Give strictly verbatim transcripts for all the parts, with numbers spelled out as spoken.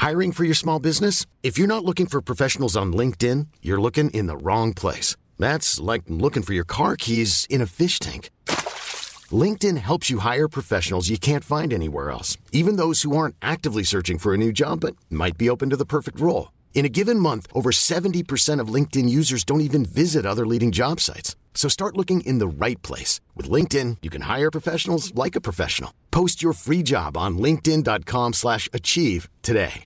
Hiring for your small business? If you're not looking for professionals on LinkedIn, you're looking in the wrong place. That's like looking for your car keys in a fish tank. LinkedIn helps you hire professionals you can't find anywhere else, even those who aren't actively searching for a new job but might be open to the perfect role. In a given month, over seventy percent of LinkedIn users don't even visit other leading job sites. So start looking in the right place. With LinkedIn, you can hire professionals like a professional. Post your free job on linkedin.com slash achieve today.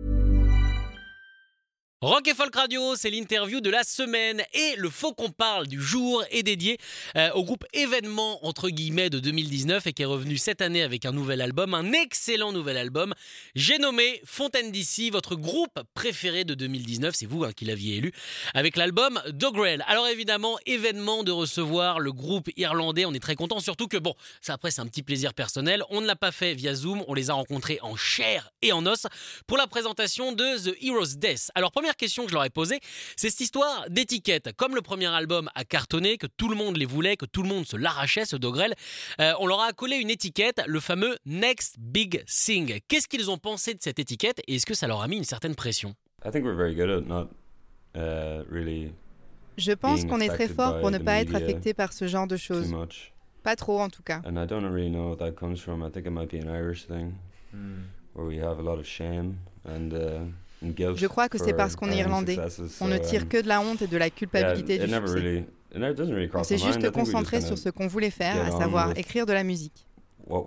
Rock et Folk Radio, c'est l'interview de la semaine et le Faut qu'on parle du jour est dédié euh, au groupe événement entre guillemets de deux mille dix-neuf et qui est revenu cette année avec un nouvel album, un excellent nouvel album. J'ai nommé Fontaine D C, votre groupe préféré de deux mille dix-neuf, c'est vous hein, qui l'aviez élu, avec l'album Dogrel. Alors évidemment, événement de recevoir le groupe irlandais, on est très content, surtout que bon, ça après c'est un petit plaisir personnel, on ne l'a pas fait via Zoom, on les a rencontrés en chair et en os pour la présentation de The Hero's Death. Alors première question que je leur ai posée, c'est cette histoire d'étiquette. Comme le premier album a cartonné, que tout le monde les voulait, que tout le monde se l'arrachait, ce Dogrel, euh, on leur a accolé une étiquette, le fameux Next Big Thing. Qu'est-ce qu'ils ont pensé de cette étiquette et est-ce que ça leur a mis une certaine pression? I think we're very good at not, uh, really Je pense qu'on est très fort pour ne pas être affecté par ce genre de choses. Pas trop en tout cas. And I don't really know what that comes from. I think it might be an Irish thing, mm. where we have a lot of shame and uh, Je crois que c'est parce qu'on est irlandais. On ne tire que de la honte et de la culpabilité du succès. On s'est juste concentré sur ce qu'on voulait faire, à savoir écrire de la musique. On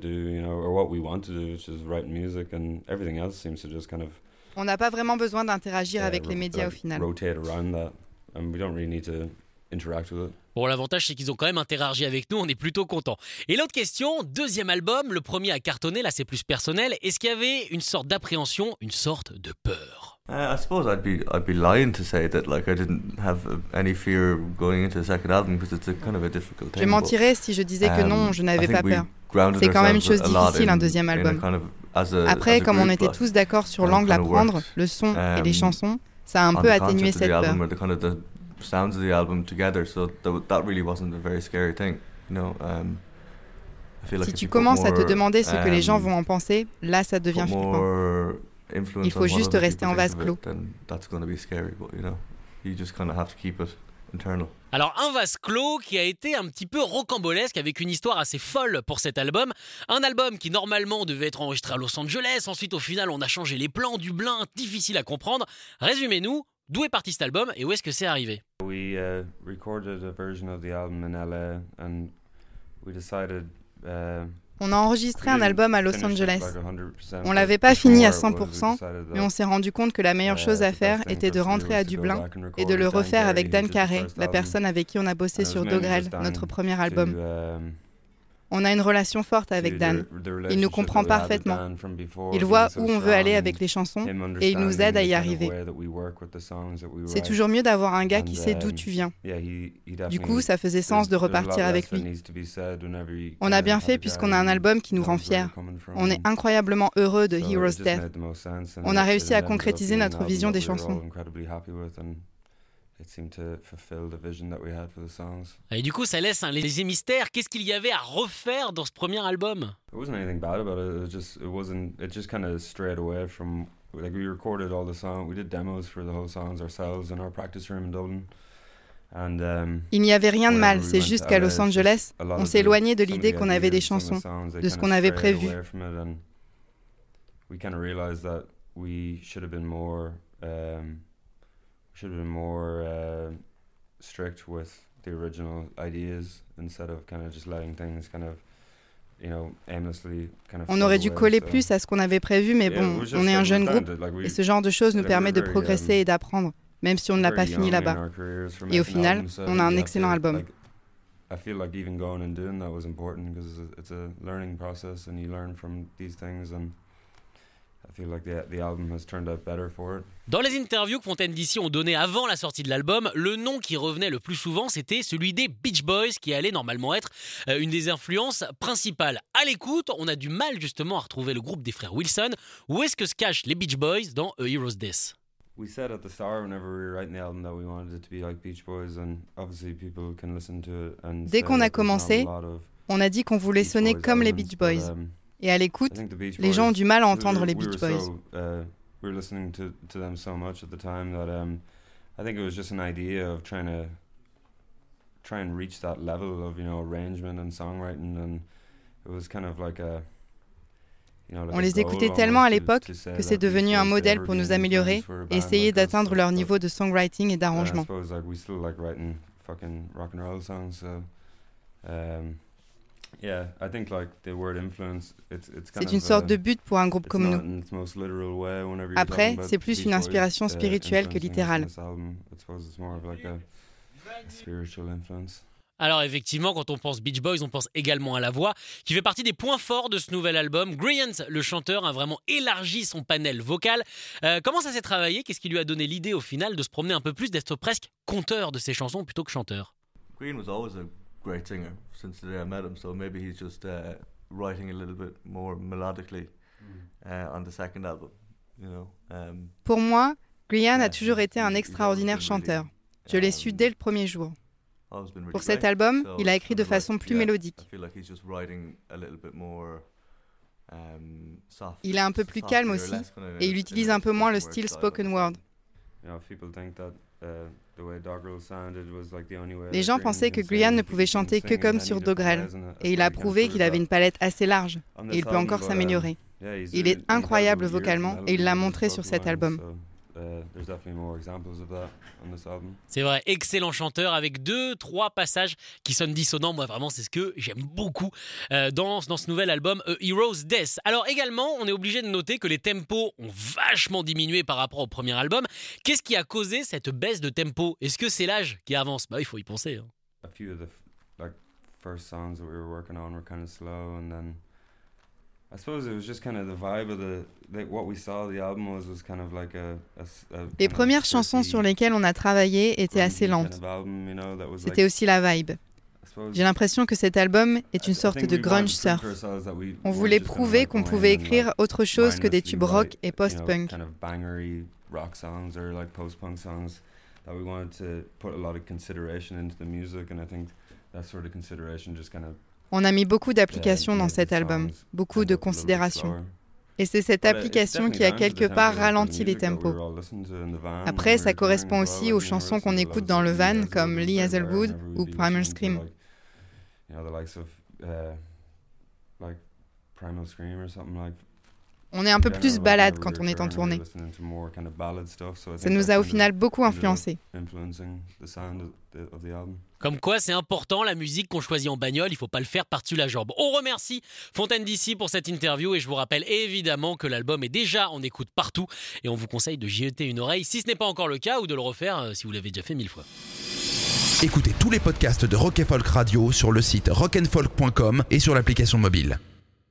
n'a pas vraiment besoin d'interagir avec les médias au final. Bon, l'avantage, c'est qu'ils ont quand même interagi avec nous, on est plutôt contents. Et l'autre question, deuxième album, le premier a cartonné, là c'est plus personnel. Est-ce qu'il y avait une sorte d'appréhension, une sorte de peur? Uh, I suppose I'd be I'd be lying to say that like I didn't have any fear going into the second album because it's a kind of a difficult thing. Je mentirais si je disais que non, je n'avais pas peur. C'est quand même une chose difficile, un deuxième album. Après, comme on était tous d'accord sur l'angle à prendre, le son et les chansons, ça a un peu atténué cette peur. Sounds of the album together, so th- that really wasn't a very scary thing, you know. Um, I feel like si tu commences à te demander ce que les gens vont en penser, là ça devient flippant. Il faut juste rester en vase clos. Alors un vase clos qui a été un petit peu rocambolesque avec une histoire assez folle pour cet album. Un album qui normalement devait être enregistré à Los Angeles, ensuite au final on a changé les plans, du blin, difficile à comprendre. Résumez-nous. D'où est parti cet album et où est-ce que c'est arrivé? We uh, recorded a version of the album in L A and we decided uh, On a enregistré un album à Los Angeles. On l'avait pas fini à cent pour cent, mais on s'est rendu compte que la meilleure chose à faire était de rentrer à Dublin et de le refaire avec Dan Carey, la personne avec qui on a bossé sur Dogrel, notre premier album. On a une relation forte avec Dan. Il nous comprend parfaitement. Il voit où on veut aller avec les chansons et il nous aide à y arriver. C'est toujours mieux d'avoir un gars qui sait d'où tu viens. Du coup, ça faisait sens de repartir avec lui. On a bien fait puisqu'on a un album qui nous rend fiers. On est incroyablement heureux de Hero's Death. On a réussi à concrétiser notre vision des chansons. Et du coup, ça laisse un léger mystère. Qu'est-ce qu'il y avait à refaire dans ce premier album? It wasn't anything bad about it. It was just, it wasn't. It just kind of strayed away from. Like we recorded all the songs. We did demos for the whole songs ourselves in our practice room in Dublin. And, um, Il n'y avait rien de mal. C'est juste qu'à Los Angeles, on s'éloignait de l'idée qu'on avait des chansons, de ce qu'on avait prévu. We kind of realized that we should have been more. Um, should have been more uh, strict with the original ideas instead of kind of just letting things kind of, you know, aimlessly kind of. On aurait dû coller plus à ce qu'on avait prévu, mais bon, on est un jeune groupe et ce genre de choses nous permet de progresser et d'apprendre, même si on ne l'a pas fini là-bas. Et au final, on a un excellent album. I feel like even going and doing that was important because it's a learning process and you learn from these things and. Dans les interviews que Fontaine D C ont données avant la sortie de l'album, le nom qui revenait le plus souvent, c'était celui des Beach Boys, qui allait normalement être une des influences principales. À l'écoute, on a du mal justement à retrouver le groupe des frères Wilson. Où est-ce que se cachent les Beach Boys dans A Hero's Death? We said at the start whenever we were writing the album that we wanted it to be like Beach Boys and obviously people can listen to it and Dès qu'on a commencé, on a dit qu'on voulait sonner comme les Beach Boys. Et à l'écoute, les gens ont du mal à entendre les Beach Boys. we were listening to to them so much at the time that um, I think it was just an idea of trying to try and reach that level of, you know, arrangement and songwriting, and it was kind of like a On les écoutait tellement à l'époque que c'est devenu un modèle pour nous améliorer et essayer d'atteindre leur niveau de songwriting et d'arrangement. C'est une sorte de but pour un groupe comme nous. Après, c'est plus une inspiration spirituelle que littérale. Alors effectivement, quand on pense Beach Boys, on pense également à la voix, qui fait partie des points forts de ce nouvel album. Grient, le chanteur, a vraiment élargi son panel vocal. Euh, comment ça s'est travaillé ? Qu'est-ce qui lui a donné l'idée au final de se promener un peu plus, d'être presque conteur de ses chansons plutôt que chanteur ? Green was always a great singer since the day I met him, so maybe he's just uh, writing a little bit more melodically uh, on the second album, you know. Um, Pour moi, Grient a toujours été un extraordinaire chanteur. Je l'ai su dès le premier jour. Pour cet album, il a écrit de façon plus mélodique. Il est un peu plus calme aussi, et il utilise un peu moins le style spoken word. Les gens pensaient que Grient ne pouvait chanter que comme sur Dogrel, et il a prouvé qu'il avait une palette assez large, et il peut encore s'améliorer. Il est incroyable vocalement, et il l'a montré sur cet album. C'est vrai, excellent chanteur avec deux, trois passages qui sonnent dissonants. Moi, vraiment, c'est ce que j'aime beaucoup euh, dans, dans ce nouvel album A Hero's Death. Alors également, on est obligé de noter que les tempos ont vachement diminué par rapport au premier album. Qu'est-ce qui a causé cette baisse de tempo ? Est-ce que c'est l'âge qui avance ? Bah, il faut y penser. Hein. A few of the like first songs that we were working on were kind of slow, and then I suppose it was just kind of the vibe of the, the what we saw the album was was kind of like a, a, a Les premières chansons sur lesquelles on a travaillé étaient assez lentes. C'était aussi la vibe. J'ai l'impression que cet album est une sorte de grunge surf. On voulait prouver qu'on pouvait écrire autre chose que des tubes rock et post-punk. On a mis beaucoup d'applications dans cet album, beaucoup de considérations. Et c'est cette application qui a quelque part ralenti les tempos. Après, ça correspond aussi aux chansons qu'on écoute dans le van, comme Lee Hazelwood ou Primal Scream. On est un peu plus balade quand on est en tournée. Ça nous a au final beaucoup influencé. Comme quoi, c'est important, la musique qu'on choisit en bagnole, il ne faut pas le faire par-dessus la jambe. On remercie Fontaine D C pour cette interview et je vous rappelle évidemment que l'album est déjà en écoute partout et on vous conseille de y jeter une oreille si ce n'est pas encore le cas ou de le refaire si vous l'avez déjà fait mille fois. Écoutez tous les podcasts de Rock and Folk Radio sur le site rock and folk point com et sur l'application mobile.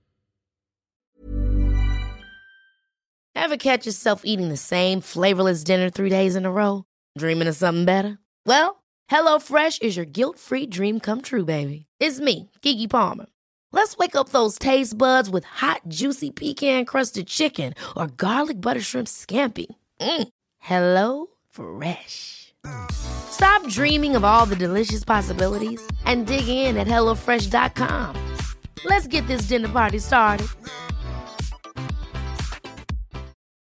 Ever catch yourself eating the same flavorless dinner three days in a row? Dreaming of something better? Well, HelloFresh is your guilt-free dream come true, baby. It's me, Keke Palmer. Let's wake up those taste buds with hot, juicy pecan-crusted chicken or garlic butter shrimp scampi. Mm. Hello Fresh. Stop dreaming of all the delicious possibilities and dig in at hello fresh dot com. Let's get this dinner party started.